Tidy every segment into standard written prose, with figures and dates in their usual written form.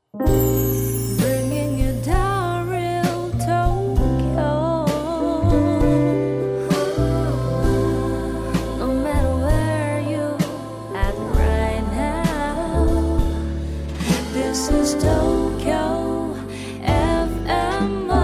Bringing you down real Tokyo. No matter where you at right now, this is Tokyo FMO.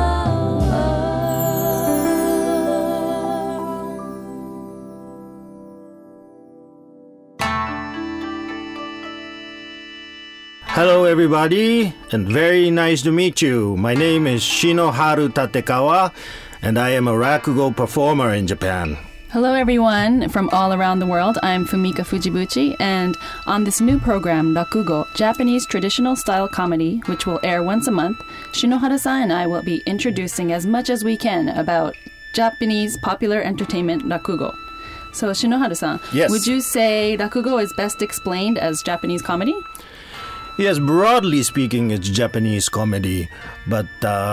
Hello everybody, and very nice to meet you. My name is Shinoharu Tatekawa, and I am a rakugo performer in Japan. Hello, everyone from all around the world. I'm Fumika Fujibuchi, and on this new program, Rakugo, Japanese traditional style comedy, which will air once a month, Shinohara-san and I will be introducing as much as we can about Japanese popular entertainment Rakugo. So, Shinohara-san, Yes. would you say Rakugo is best explained as Japanese comedy? Yes, broadly speaking, it's Japanese comedy, but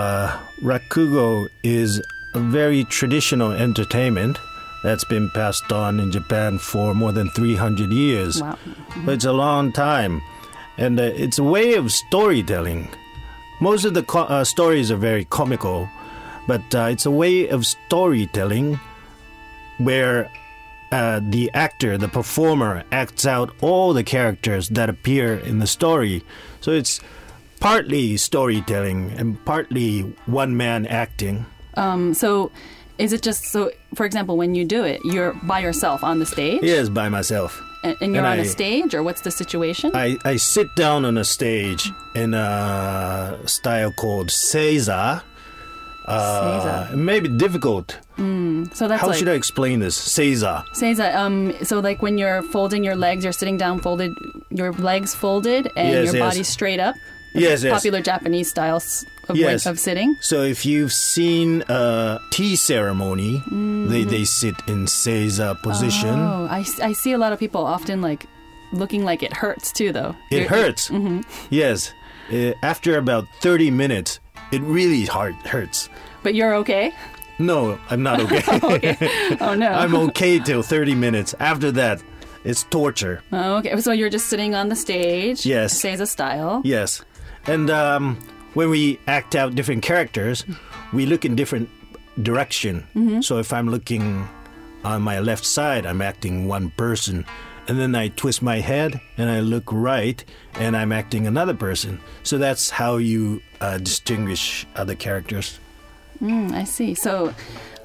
rakugo is a very traditional entertainment that's been passed on in Japan for more than 300 years. Wow. But it's a long time, and it's a way of storytelling. Most of the stories are very comical, but it's a way of storytelling where the actor, the performer, acts out all the characters that appear in the story. So it's partly storytelling and partly one-man acting. So is it just, so, for example, when you do it, you're by yourself on the stage? Yes, by myself. And you're on a stage, or what's the situation? I sit down on a stage in a style called seiza. Seiza. It may be difficult. So that's How like, should I explain this? Seiza. Seiza, so like when you're folding your legs, you're sitting down folded, your legs folded, and Yes, your yes. body straight up. Yes, yes. Popular Japanese styles of, Yes. of sitting. So if you've seen a tea ceremony, they sit in seiza position. Oh, I see a lot of people often like looking like it hurts too, though. It hurts. Yes. After about 30 minutes, it really hurts. But you're okay? No, I'm not okay. Okay. Oh, no. I'm okay till 30 minutes. After that, it's torture. Oh, okay. So you're just sitting on the stage. Yes. Seiza style. Yes. And when we act out different characters, we look in different direction. So if I'm looking on my left side, I'm acting one person. And then I twist my head and I look right and I'm acting another person. So that's how you distinguish other characters. I see. So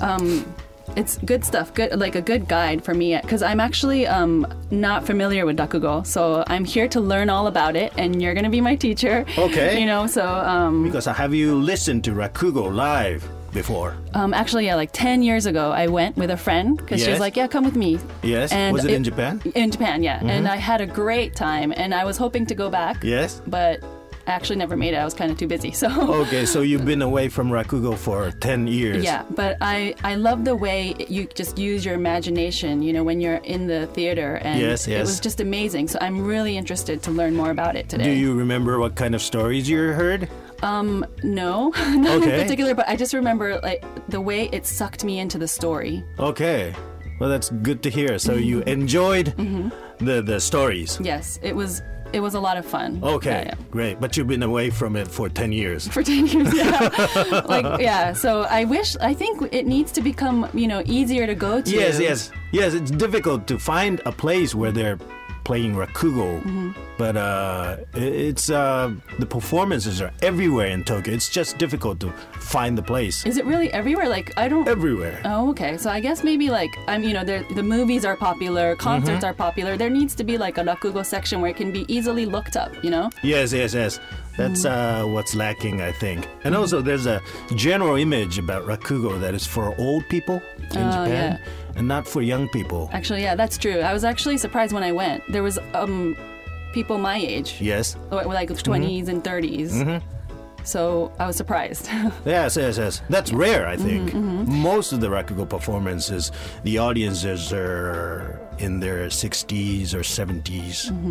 it's good stuff, good, like a good guide for me, because I'm actually not familiar with Rakugo. So I'm here to learn all about it, and you're going to be my teacher. Okay. You know, so... Because have you listened to Rakugo live before? Actually, yeah, like 10 years ago, I went with a friend because she was Yes. like, yeah, come with me. Yes. And Was it in Japan? In Japan, yeah. And I had a great time, and I was hoping to go back. Yes. But I actually never made it. I was kind of too busy. So Okay, so you've been away from Rakugo for 10 years. yeah, but I love the way you just use your imagination, you know, when you're in the theater. And Yes, it yes. was just amazing. So I'm really interested to learn more about it today. Do you remember what kind of stories you heard? No, not Okay. in particular, but I just remember like the way it sucked me into the story. Okay. Well, that's good to hear. So you enjoyed the stories. Yes, it was a lot of fun. Okay, Yeah. great. But you've been away from it for 10 years. For 10 years, yeah. Like, yeah, so I think it needs to become, you know, easier to go to. Yes. It's difficult to find a place where they're playing Rakugo, but it's the performances are everywhere in Tokyo. It's just difficult to find the place. Is it really everywhere? Like, I don't... Everywhere. Oh, okay. So I guess maybe like, you know, the movies are popular, concerts are popular. There needs to be like a Rakugo section where it can be easily looked up, you know? Yes. That's what's lacking, I think. And also, there's a general image about Rakugo that is for old people in Japan and not for young people. Actually, yeah, that's true. I was actually surprised when I went. There was people my age. Yes. Like 20s and 30s. So I was surprised. Yes. That's rare, I think. Most of the Rakugo performances, the audiences are in their 60s or 70s.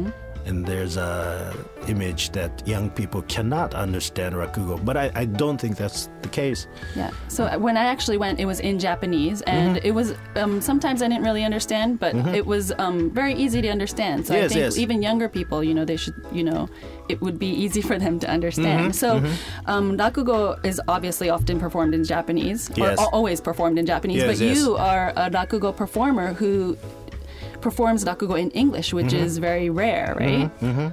and there's a image that young people cannot understand Rakugo. But I don't think that's the case. Yeah. So when I actually went, it was in Japanese, and it was sometimes I didn't really understand, but it was very easy to understand. So I think even younger people, they should, it would be easy for them to understand. So Rakugo is obviously often performed in Japanese, or always performed in Japanese. But you are a Rakugo performer who performs Rakugo in English, which is very rare, right?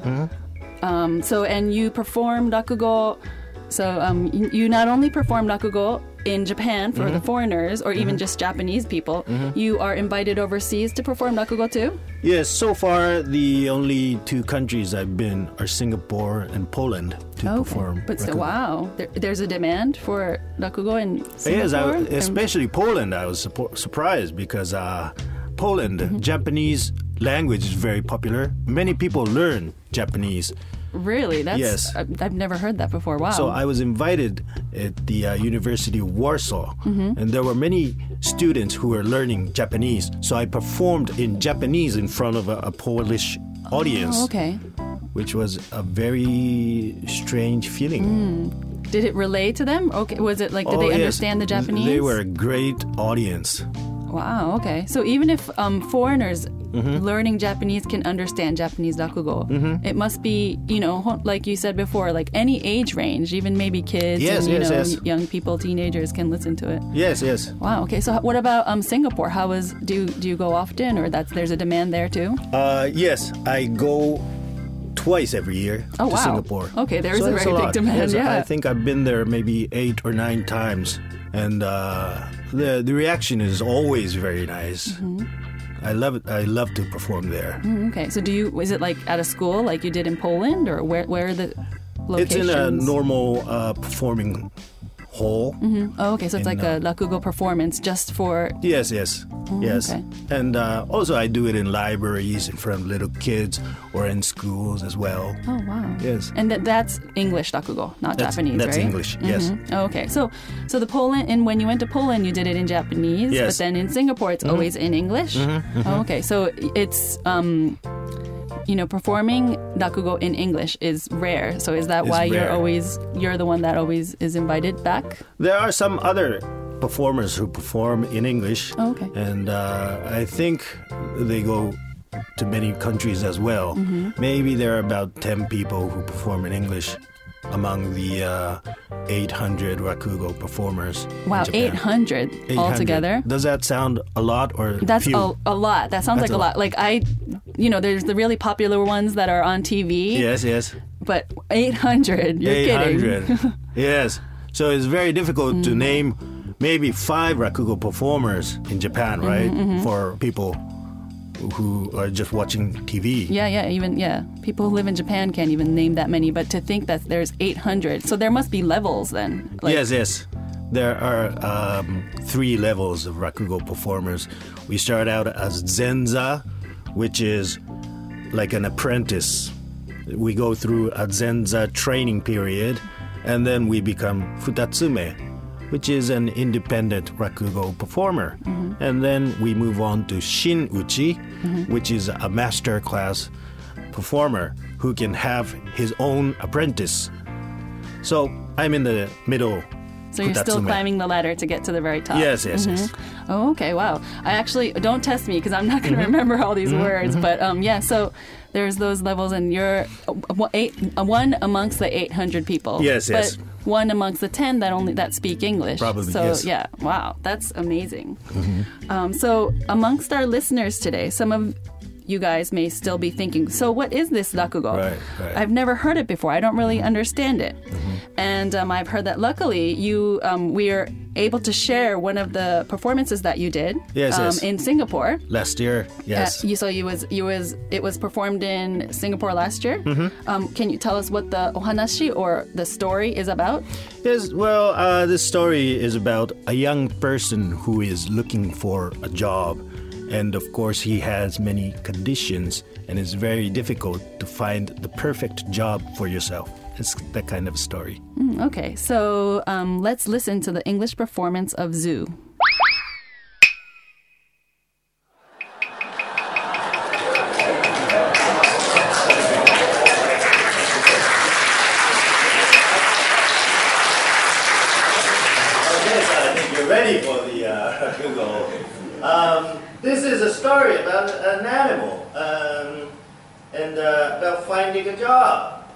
And you perform Rakugo. So you not only perform Rakugo in Japan for the foreigners, or even just Japanese people, you are invited overseas to perform Rakugo too? Yes, so far the only 2 countries I've been are Singapore and Poland to perform. But still, wow, there's a demand for Rakugo in Yes, Singapore? especially Poland. I was surprised because Poland, Japanese language is very popular. Many people learn Japanese. Really? Yes. I've never heard that before. Wow. So I was invited at the University of Warsaw, and there were many students who were learning Japanese. So I performed in Japanese in front of a Polish audience. Oh, okay. Which was a very strange feeling. Did it relate to them? Okay. Was it like, did they understand the Japanese? They were a great audience. Wow, okay. So even if foreigners learning Japanese can understand Japanese Rakugo, it must be, like you said before, like any age range, even maybe kids young people, teenagers can listen to it. Yes. Wow, okay. So what about Singapore? Do you go often, or there's a demand there too? Yes, I go twice every year to Singapore. Okay, there is a very big demand. Yes, I think I've been there maybe 8 or 9 times, and the reaction is always very nice. I love it. I love to perform there. Okay, so is it like at a school like you did in Poland, or where are the locations? It's in a normal performing hall. Oh, okay, so it's like a Rakugo performance just for... Yes. Okay. And also I do it in libraries in front of little kids or in schools as well. Oh, wow. Yes. And that's English Rakugo, not Japanese, that's right? English, yes. Oh, okay, so the Poland, and when you went to Poland, you did it in Japanese, but then in Singapore, it's always in English? Oh, okay, so it's... performing Rakugo in English is rare. So is that why you're the one that always is invited back? There are some other performers who perform in English. Oh, okay. And I think they go to many countries as well. Maybe there are about 10 people who perform in English among the 800 Rakugo performers. Wow, 800 altogether? Does that sound a lot or That's few? a lot. That sounds like a lot. Like there's the really popular ones that are on TV. Yes. But 800, you're 800. kidding. Yes. So it's very difficult to name maybe 5 Rakugo performers in Japan, right? For people who are just watching TV. Yeah. People who live in Japan can't even name that many, but to think that there's 800. So there must be levels then. Yes. There are 3 levels of Rakugo performers. We start out as Zenza, which is like an apprentice. We go through a Zenza training period, and then we become Futatsume, which is an independent Rakugo performer. And then we move on to Shin-uchi, which is a master class performer who can have his own apprentice. So I'm in the middle. So you're still climbing the ladder to get to the very top. Yes. Oh, okay, wow. I actually, don't test me because I'm not going to remember all these words. But so there's those levels, and you're one amongst the 800 people. Yes. But one amongst the 10 that speak English. Probably, so, yes. Yeah, wow, that's amazing. So amongst our listeners today, some of you guys may still be thinking, so what is this Rakugo? Right. I've never heard it before. I don't really understand it. And I've heard that luckily we are able to share one of the performances that you did in Singapore last year. Yes. It was performed in Singapore last year. Can you tell us what the ohanashi or the story is about? Yes. Well, this story is about a young person who is looking for a job. And of course, he has many conditions, and it's very difficult to find the perfect job for yourself. It's that kind of story. Okay, so let's listen to the English performance of Zoo. you're ready for the Rakugo. This is a story about an animal and about finding a job.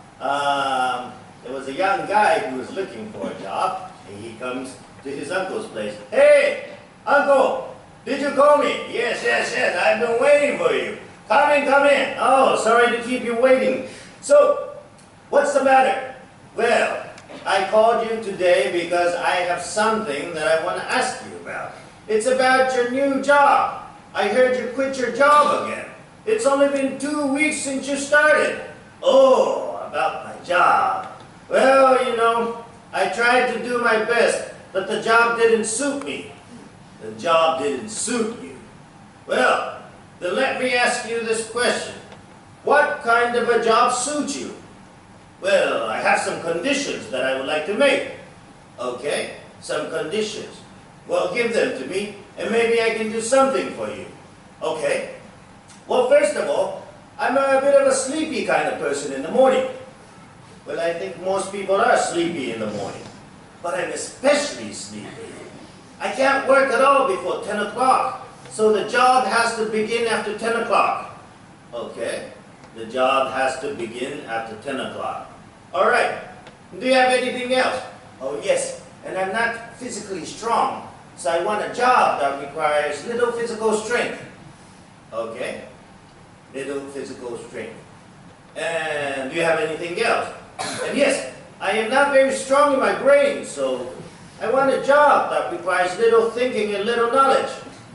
There was a young guy who was looking for a job, and he comes to his uncle's place. Hey, uncle, did you call me? Yes, I've been waiting for you. Come in. Oh, sorry to keep you waiting. So, what's the matter? Well, I called you today because I have something that I want to ask you about. It's about your new job. I heard you quit your job again. It's only been 2 weeks since you started. Oh, about my job. Well, you know, I tried to do my best, but the job didn't suit me. The job didn't suit you. Well, then let me ask you this question. What kind of a job suits you? Well, I have some conditions that I would like to make. Okay, some conditions. Well, give them to me, and maybe I can do something for you. Okay. Well, first of all, I'm a bit of a sleepy kind of person in the morning. Well, I think most people are sleepy in the morning. But I'm especially sleepy. I can't work at all before 10 o'clock. So the job has to begin after 10 o'clock. Okay. The job has to begin after 10 o'clock. All right. Do you have anything else? Oh, yes. And I'm not physically strong. So I want a job that requires little physical strength. Okay. Little physical strength. And do you have anything else? And yes, I am not very strong in my brain, so I want a job that requires little thinking and little knowledge.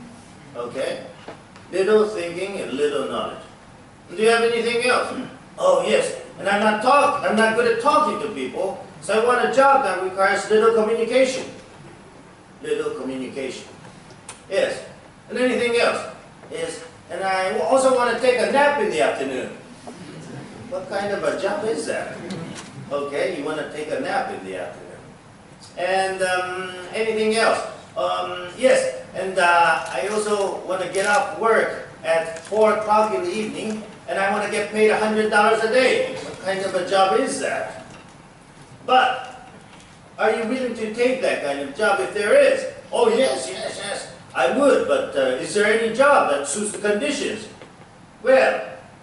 Okay? Little thinking and little knowledge. Do you have anything else? Oh, yes. And I'm not good at talking to people, so I want a job that requires little communication. Little communication. Yes. And anything else? Yes. And I also want to take a nap in the afternoon. What kind of a job is that? Okay, you want to take a nap in the afternoon. And anything else? Yes, and I also want to get off work at 4 o'clock in the evening, and I want to get paid $100 a day. What kind of a job is that? But, are you willing to take that kind of job if there is? Oh, yes. I would, but is there any job that suits the conditions? Well,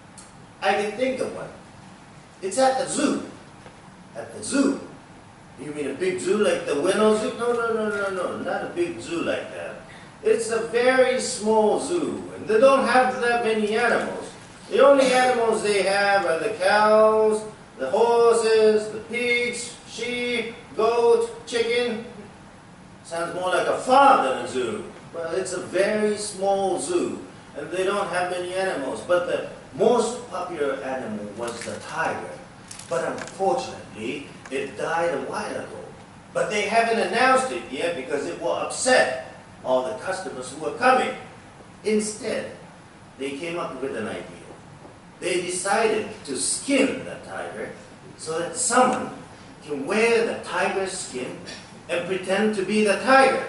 I can think of one. It's at the zoo. At the zoo? You mean a big zoo like the Ueno Zoo? No, not a big zoo like that. It's a very small zoo, and they don't have that many animals. The only animals they have are the cows, the horses, the pigs, sheep, goat, chicken. Sounds more like a farm than a zoo. Well, it's a very small zoo, and they don't have many animals. But the most popular animal was the tiger. But unfortunately, it died a while ago. But they haven't announced it yet because it will upset all the customers who are coming. Instead, they came up with an idea. They decided to skin the tiger so that someone can wear the tiger's skin and pretend to be the tiger.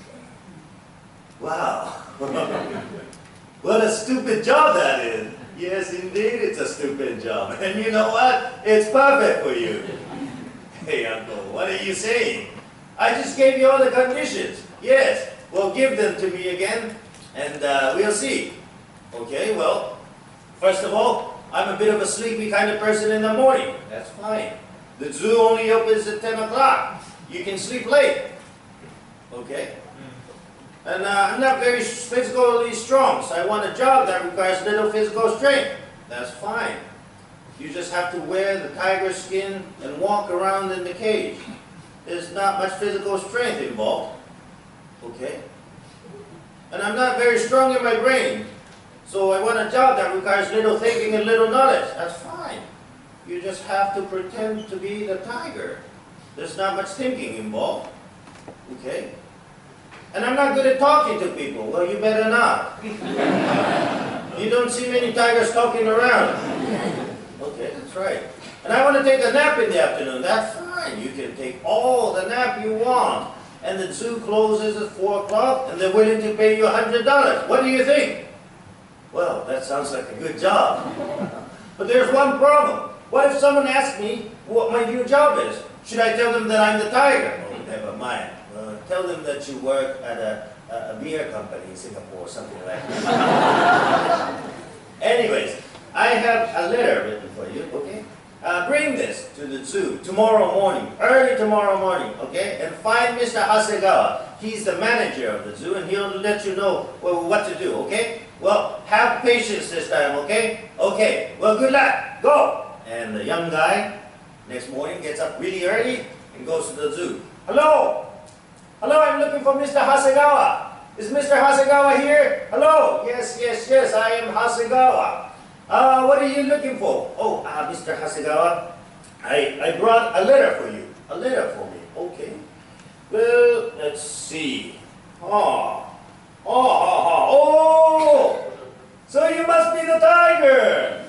Wow. What a stupid job that is. Yes, indeed, it's a stupid job. And you know what? It's perfect for you. Hey, Uncle, what are you saying? I just gave you all the conditions. Yes, well, give them to me again, and we'll see. Okay, well, first of all, I'm a bit of a sleepy kind of person in the morning. That's fine. The zoo only opens at 10 o'clock. You can sleep late. Okay? And I'm not very physically strong, so I want a job that requires little physical strength. That's fine. You just have to wear the tiger skin and walk around in the cage. There's not much physical strength involved. Okay? And I'm not very strong in my brain, so I want a job that requires little thinking and little knowledge. That's fine. You just have to pretend to be the tiger. There's not much thinking involved. Okay? And I'm not good at talking to people. Well, you better not. You don't see many tigers talking around. Okay, that's right. And I want to take a nap in the afternoon. That's fine. You can take all the nap you want. And the zoo closes at 4 o'clock, and they're willing to pay you $100. What do you think? Well, that sounds like a good job. But there's one problem. What if someone asks me what my new job is? Should I tell them that I'm the tiger? Oh, never mind. tell them that you work at a beer company in Singapore or something like that. Anyways, I have a letter written for you, okay? Bring this to the zoo tomorrow morning, early tomorrow morning, okay? And find Mr. Hasegawa. He's the manager of the zoo, and he'll let you know what to do, okay? Well, have patience this time, okay? Okay, well, good luck. Go! And the young guy, next morning, gets up really early and goes to the zoo. Hello! Hello, I'm looking for Mr. Hasegawa. Is Mr. Hasegawa here? Hello? Yes, I am Hasegawa. What are you looking for? Oh, Mr. Hasegawa, I brought a letter for you. A letter for me. Okay. Well, let's see. Oh! So you must be the tiger!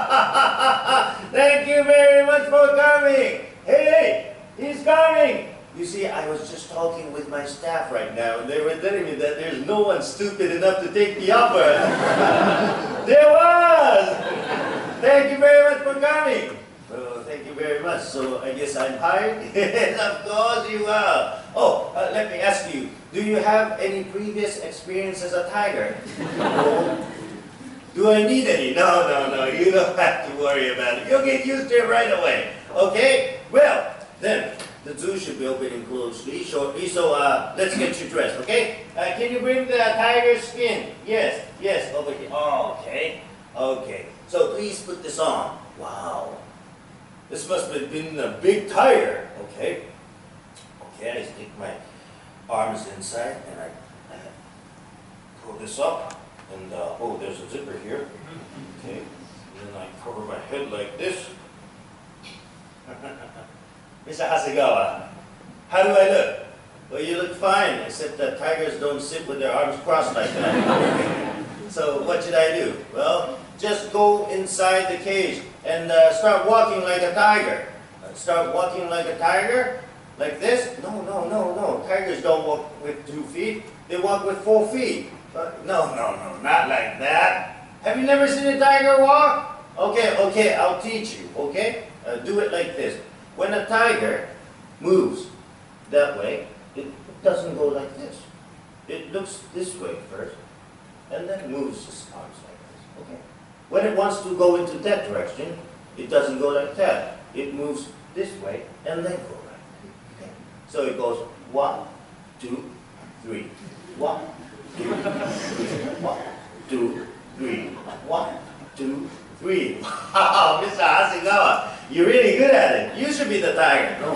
Thank you very much for coming. Hey, he's coming. You see, I was just talking with my staff right now, and they were telling me that there's no one stupid enough to take me up. There was! Thank you very much for coming. Well, thank you very much. So I guess I'm hired? Yes, of course you are. Oh, let me ask you, do you have any previous experience as a tiger? No. Do I need any? No, you don't have to worry about it. You'll get used to it right away. Okay? Well, then, the zoo should be opening closely, shortly, so let's get you dressed, okay? Can you bring the tiger's skin? Yes, over here. Oh, okay. So please put this on. Wow. This must have been a big tiger. Okay, I stick my arms inside and I pull this up. And, oh, there's a zipper here. Okay, and then I cover my head like this. Mr. Hasegawa, how do I look? Well, you look fine, except that tigers don't sit with their arms crossed like that. So what should I do? Well, just go inside the cage and start walking like a tiger. Start walking like a tiger? Like this? No. Tigers don't walk with 2 feet. They walk with 4 feet. No, not like that. Have you never seen a tiger walk? Okay, I'll teach you, okay? Do it like this. When a tiger moves that way, it doesn't go like this. It looks this way first, and then moves its arms like this, okay? When it wants to go into that direction, it doesn't go like that. It moves this way, and then go like that, okay? So it goes 1, 2, 3. 1, 2, 3. 1, 2, 3. 1, 2, 3. Wow, Mr. Hasegawa, you're really good at it. You should be the tiger. No.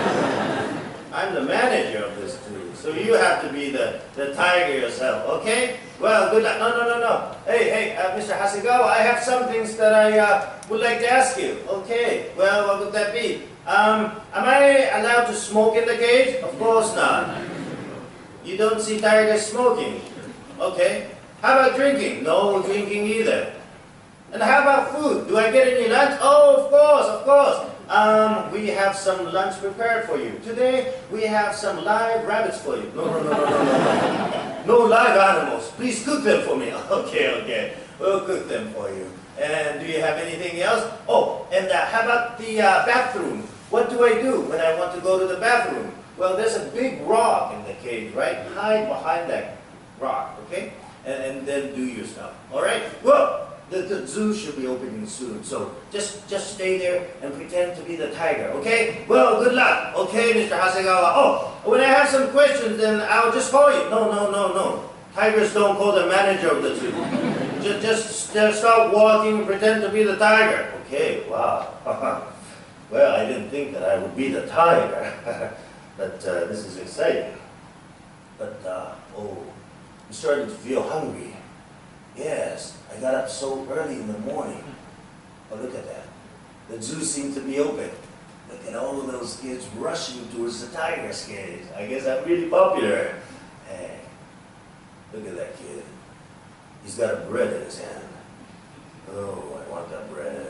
I'm the manager of this zoo, so you have to be the tiger yourself, okay? Well, good luck. No. Hey, Mr. Hasegawa, I have some things that I would like to ask you. Okay, well, what would that be? Am I allowed to smoke in the cage? Of course not. You don't see tigers smoking. Okay. How about drinking? No drinking either. And how about food? Do I get any lunch? Oh, of course. We have some lunch prepared for you. Today, we have some live rabbits for you. No. No live animals. Please cook them for me. Okay. We'll cook them for you. And do you have anything else? Oh, and how about the bathroom? What do I do when I want to go to the bathroom? Well, there's a big rock in the cage, right? Hide behind that rock, okay? And then do your stuff. All right? Well, the zoo should be opening soon, so just stay there and pretend to be the tiger, okay? Well, good luck, okay, Mr. Hasegawa. Oh, when I have some questions, then I'll just call you. No. Tigers don't call the manager of the zoo. just start walking and pretend to be the tiger. Okay, wow. Well, I didn't think that I would be the tiger, but this is exciting. But, I'm starting to feel hungry. Yes, I got up so early in the morning. Oh, look at that. The zoo seemed to be open. Look at all of those kids rushing towards the tiger's cage. I guess I'm really popular. Hey, look at that kid. He's got a bread in his hand. Oh, I want that bread.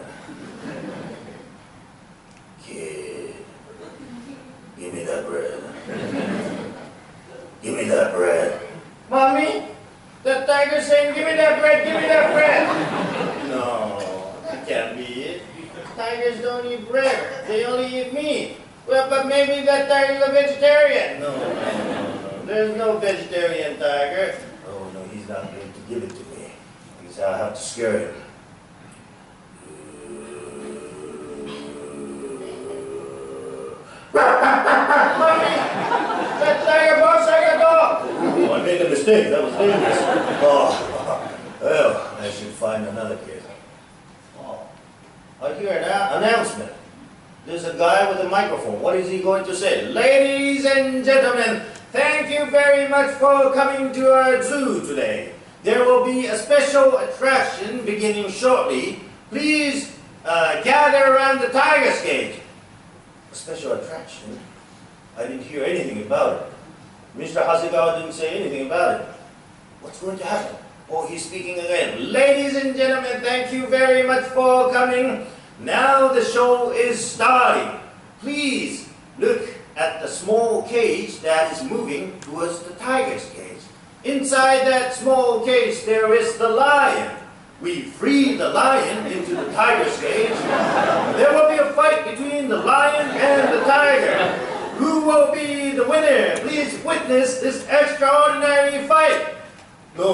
Kid, give me that bread. Give me that bread. Mommy? The tiger's saying, give me that bread, No, that can't be it. Tigers don't eat bread, they only eat meat. Well, but maybe that tiger's a vegetarian. No. There's no vegetarian tiger. Oh, no, he's not going to give it to me. Because I'll have to scare him. That tiger boss, I got dog! Oh, I made a mistake. That was dangerous. Oh, well, I should find another kid. Oh, I hear an announcement. There's a guy with a microphone. What is he going to say? Ladies and gentlemen, thank you very much for coming to our zoo today. There will be a special attraction beginning shortly. Please gather around the tiger's cage. A special attraction? I didn't hear anything about it. Mr. Hasegawa didn't say anything about it. What's going to happen? Oh, he's speaking again. Ladies and gentlemen, thank you very much for coming. Now the show is starting. Please look at the small cage that is moving towards the tiger's cage. Inside that small cage there is the lion. We free the lion into the tiger's cage. There will be a fight between the lion and the tiger. Who will be the winner? Please witness this extraordinary fight. No.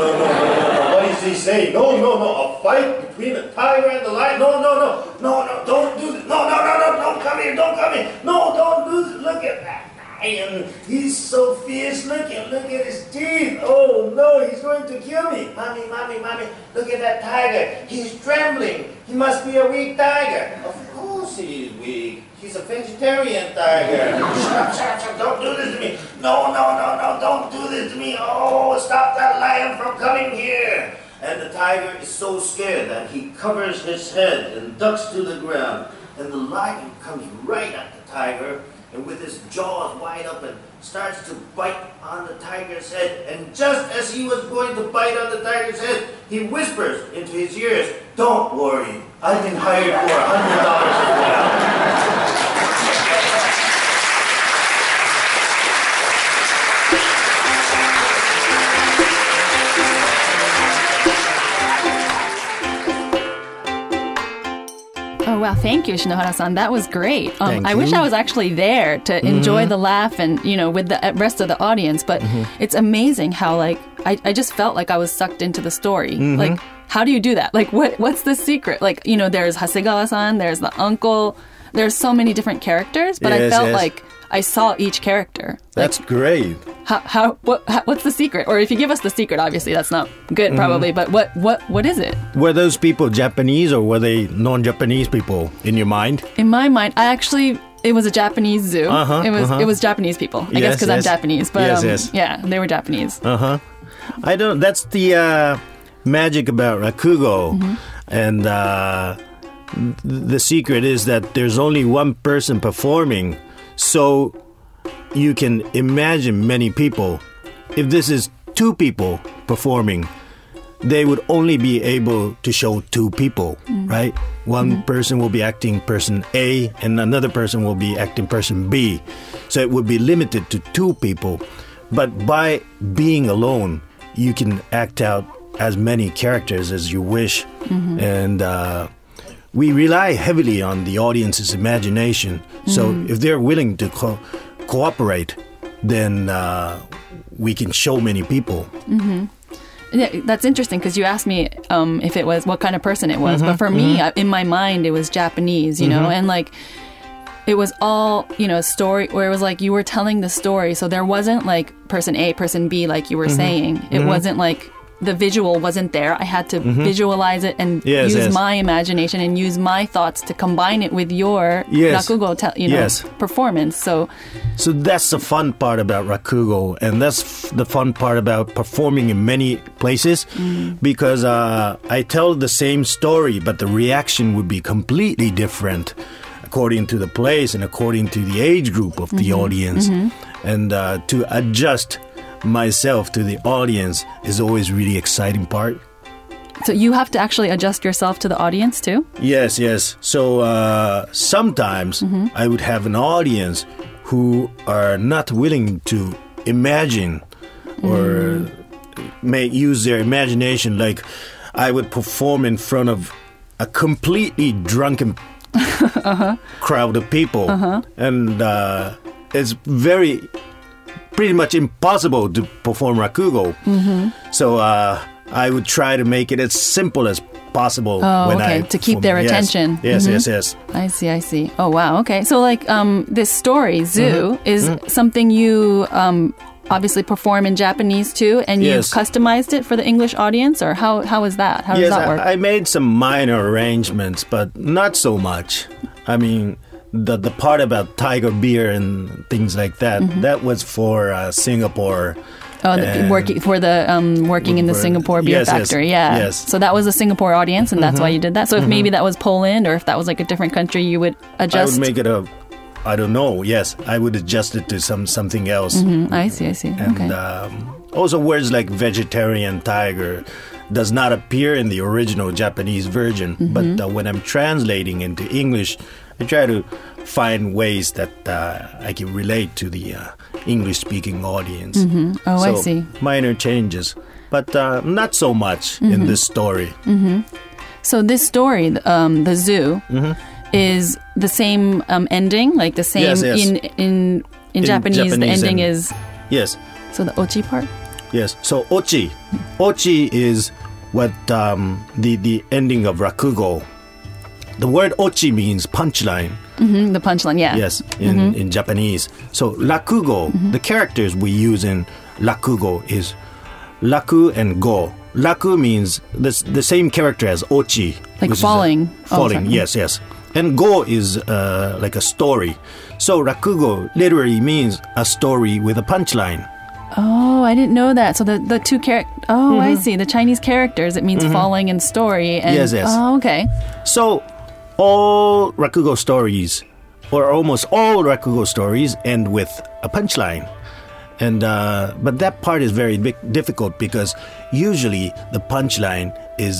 What is he saying? No. A fight between the tiger and the lion? No. Don't do this. No. Don't come here. No, don't do this. Look at that lion. He's so fierce looking. Look at his teeth. Oh, no, he's going to kill me. Mommy. Look at that tiger. He's trembling. He must be a weak tiger. Of course he is weak. He's a vegetarian tiger. Shut up. Don't do this to me. No. Don't do this to me. Oh, stop that lion from coming here. And the tiger is so scared that he covers his head and ducks to the ground. And the lion comes right at the tiger and with his jaws wide open starts to bite on the tiger's head. And just as he was going to bite on the tiger's head, he whispers into his ears, "Don't worry, I've been hired for $100 as well." Oh, wow. Thank you, Shinohara-san. That was great. Thank I you. wish I was actually there to enjoy the laugh and, with the rest of the audience. But it's amazing how, I just felt like I was sucked into the story. Like, how do you do that? Like, what's the secret? Like, there's Hasegawa-san, there's the uncle, there's so many different characters, but I felt like I saw each character. That's great. What's the secret? Or if you give us the secret, obviously that's not good, probably. But what is it? Were those people Japanese or were they non-Japanese people in your mind? In my mind, it was a Japanese zoo. It was Japanese people. I guess because I'm Japanese. But yeah, they were Japanese. That's the magic about Rakugo. And the secret is that there's only one person performing. So you can imagine many people. If this is two people performing, they would only be able to show two people, right? One person will be acting person A and another person will be acting person B. So it would be limited to two people. But by being alone, you can act out as many characters as you wish. And we rely heavily on the audience's imagination. So if they're willing to cooperate, then we can show many people. Yeah, that's interesting because you asked me if it was what kind of person it was. But for me, in my mind, it was Japanese, and it was all, a story where it was like you were telling the story. So there wasn't like person A, person B, like you were saying. It wasn't like the visual wasn't there. I had to visualize it and use my imagination and use my thoughts to combine it with your Rakugo, performance. So that's the fun part about Rakugo, and that's the fun part about performing in many places, because I tell the same story, but the reaction would be completely different according to the place and according to the age group of the audience. And to adjust myself to the audience is always really exciting part. So you have to actually adjust yourself to the audience too? Yes. So sometimes I would have an audience who are not willing to imagine or may use their imagination. Like I would perform in front of a completely drunken crowd of people. And it's very pretty much impossible to perform rakugo. So I would try to make it as simple as possible. To keep their attention. Yes. I see. Oh, wow. Okay. So like this story, Zoo, is something you obviously perform in Japanese too, and you've customized it for the English audience, or how is that? How does that work? I made some minor arrangements, but not so much. I mean, the part about tiger beer and things like that, that was for Singapore. Working in the Singapore beer factory, Yes. So that was a Singapore audience, and that's why you did that. So if maybe that was Poland, or if that was like a different country, you would adjust. I would make it I don't know. Yes, I would adjust it to something else. I see. And also words like vegetarian tiger does not appear in the original Japanese version. But when I'm translating into English, I try to find ways that I can relate to the English-speaking audience. I see. Minor changes, but not so much in this story. So this story, the Zoo, is the same ending, like the same in Japanese. The ending is So the ochi part. Yes. So ochi is what the ending of rakugo. The word ochi means punchline. The punchline, yeah. Yes, in Japanese. So rakugo, the characters we use in rakugo is raku and go. Raku means the same character as ochi. Like falling. Yes. And go is like a story. So rakugo literally means a story with a punchline. Oh, I didn't know that. So the two characters... Oh, I see. The Chinese characters, it means falling and story. And, yes. Oh, okay. So all rakugo stories, or almost all rakugo stories, end with a punchline. And but that part is very difficult because usually the punchline is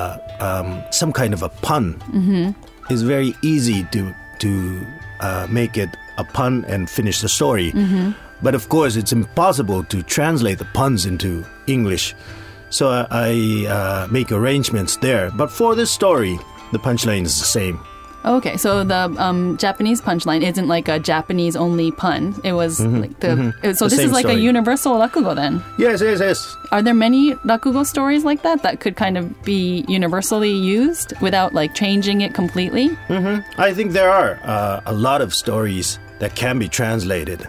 some kind of a pun. It's very easy to make it a pun and finish the story. But of course, it's impossible to translate the puns into English. So I make arrangements there. But for this story, the punchline is the same. Okay, so the Japanese punchline isn't like a Japanese-only pun. It was like So this is like a universal rakugo then? Yes. Are there many rakugo stories like that could kind of be universally used without like changing it completely? I think there are a lot of stories that can be translated.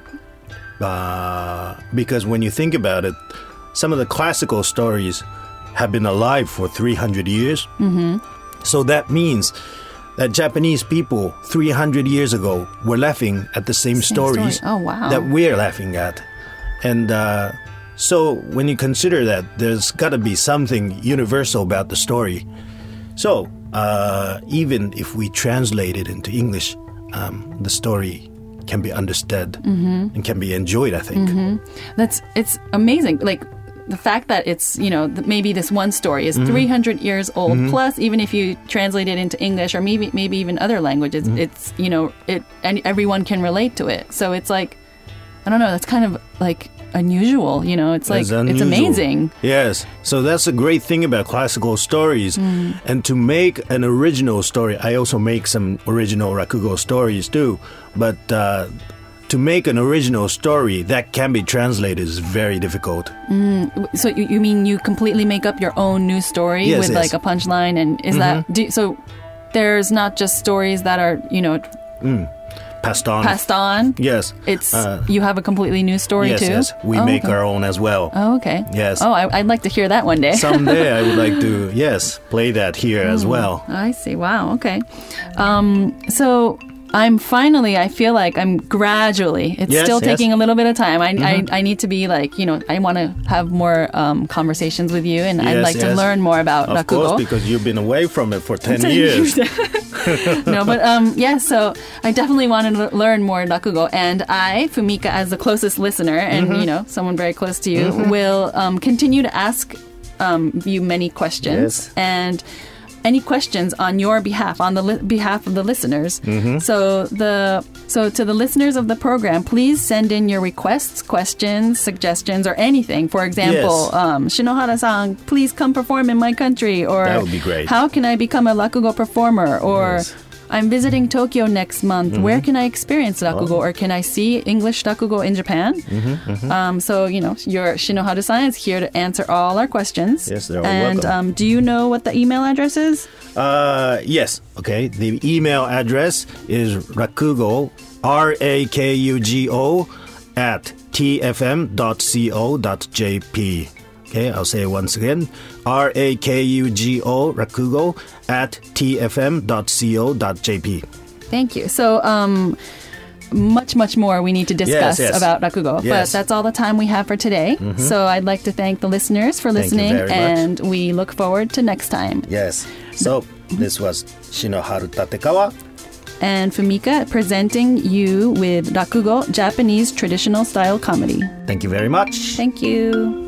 Because when you think about it, some of the classical stories have been alive for 300 years. So that means that Japanese people 300 years ago were laughing at the same stories that we're laughing at. And so when you consider that, there's got to be something universal about the story. So even if we translate it into English, the story can be understood and can be enjoyed, I think. It's amazing. Like, the fact that it's, maybe this one story is 300 years old, plus even if you translate it into English or maybe even other languages, it's, and everyone can relate to it. So it's like, I don't know, that's kind of like unusual, it's like, it's amazing. Yes. So that's a great thing about classical stories. And to make an original story, I also make some original rakugo stories too, but to make an original story that can be translated is very difficult. So you mean you completely make up your own new story with like a punchline, and is that so? There's not just stories that are passed on. Passed on. Yes, it's you have a completely new story too. Yes, we make our own as well. Oh, okay. Yes. Oh, I'd like to hear that one day. Someday I would like to play that here as well. I see. Wow. Okay. So. I feel like I'm gradually, it's still taking a little bit of time. I need to be like, I want to have more conversations with you, and I'd like to learn more about rakugo. Of course, because you've been away from it for 10 years. No, but so I definitely want to learn more rakugo, and I, Fumika, as the closest listener, and someone very close to you, will continue to ask you many questions. And any questions on your behalf, on the behalf of the listeners. So to the listeners of the program, please send in your requests, questions, suggestions, or anything. For example, Shinohara-san, please come perform in my country. Or that would be great. How can I become a rakugo performer? Or I'm visiting Tokyo next month. Where can I experience rakugo, or can I see English rakugo in Japan? So, your Shinoharu-san is here to answer all our questions. Yes, they're all and, welcome. do you know what the email address is? Yes. Okay. The email address is rakugo, RAKUGO @tfm.co.jp. Okay, I'll say it once again. RAKUGO, rakugo @tfm.co.jp. Thank you. So, much more we need to discuss Yes. about rakugo. But Yes. that's all the time we have for today. So I'd like to thank the listeners for Thank you listening, very much. and we look forward to next time. Yes. So this was Shinoharu Tatekawa. And Fumika presenting you with rakugo, Japanese traditional style comedy. Thank you very much. Thank you.